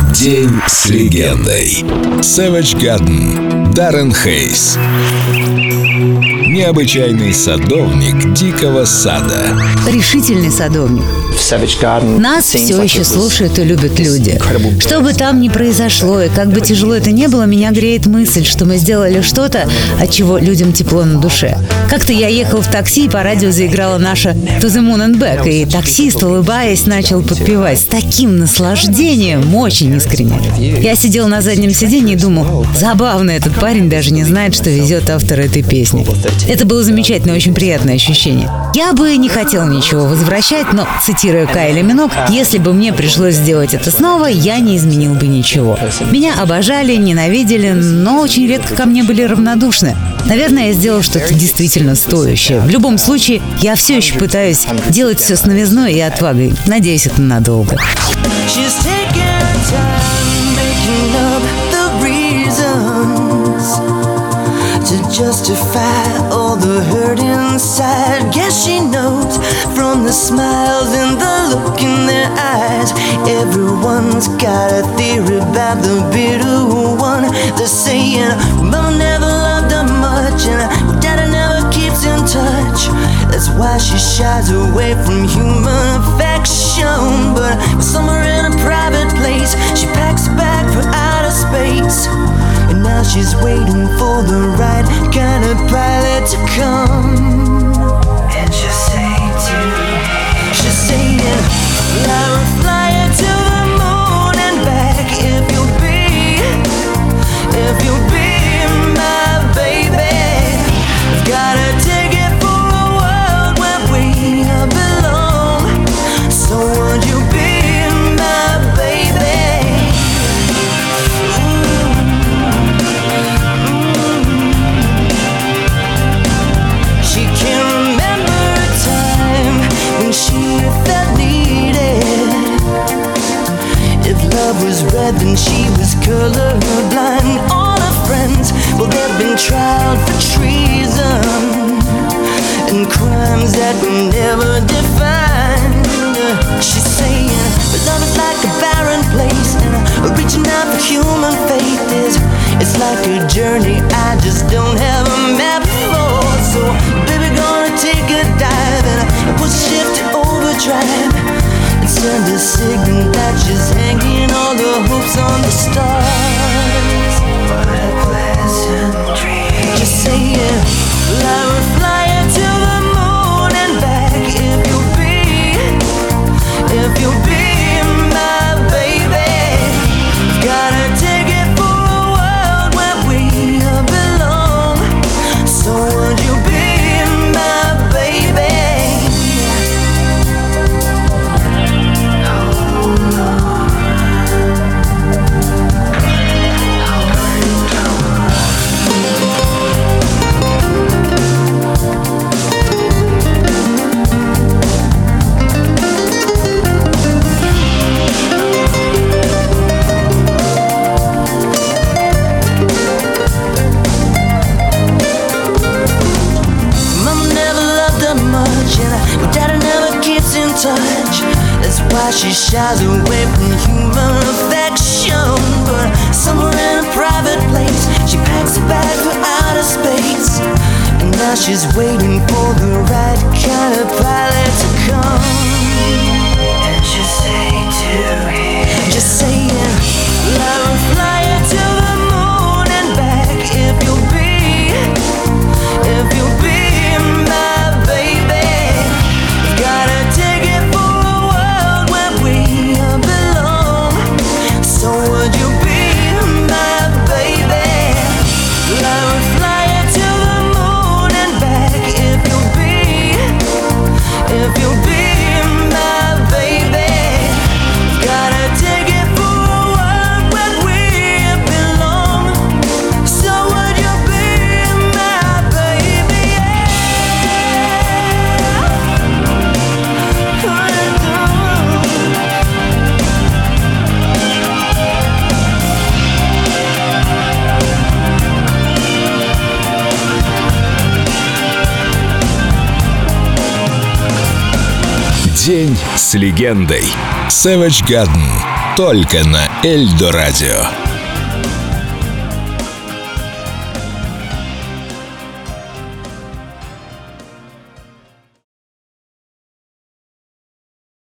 День с легендой. Savage Garden. Даррен Хейс. Необычайный садовник дикого сада. Решительный садовник. Нас все еще слушают и любят люди. Что бы там ни произошло, и как бы тяжело это ни было, меня греет мысль, что мы сделали что-то, от чего людям тепло на душе. Как-то я ехал в такси, и по радио заиграла наша «To the Moon and Back», и таксист, улыбаясь, начал подпевать с таким наслаждением, очень искренне. Я сидел на заднем сиденье и думал, забавно, этот парень даже не знает, что везет автор этой песни. Это было замечательное, очень приятное ощущение. Я бы не хотел ничего возвращать, но, цитируя Кайли Миноуг, если бы мне пришлось сделать это снова, я не изменил бы ничего. Меня обожали, ненавидели, но очень редко ко мне были равнодушны. Наверное, я сделал что-то действительно стоящее. В любом случае, я все еще пытаюсь делать все с новизной и отвагой. Надеюсь, это надолго. To justify all the hurt inside. Guess she knows from the smiles and the look in their eyes. Everyone's got a theory about the bitter one. They're saying Mama never loved her much and Daddy never keeps in touch. That's why she shies away from human affection. But somewhere in a private place, she packs a bag for outer space. And now she's waiting for the right kind of pilot to come. And she'll say she's saying, fly her to the moon and back if you'll be my baby. Gotta take it for a world where we belong. So would you be my baby? She felt needed. If love was red, then she was colorblind. All her friends, well, they've been tried for treason and crimes that were never defined. She's saying, but love is like a barren place, and reaching out for human faith it's like a journey I just don't have a map for. So, baby, gonna take a dive and put shift to overdrive and send a signal that she's hanging all the hopes on the stars. What a pleasant dream. Just saying, fly her to the moon and back if you'll be my baby. Gotta take it for a world where we belong. So would you be my baby? Touch. That's why she shies away from human affection. But somewhere in a private place, she packs a bag for outer space. And now she's waiting for the right kind of pilot to come. And she'll say to him, just saying, fly her to the moon and back if you'll be my baby. Gotta take it for a world where we belong. So would you be my baby? Fly her to the moon and back if you'll be my baby. Gotta take it for a world where we belong. So would you be my baby? День с легендой. Savage Garden. Только на Эльдо Радио.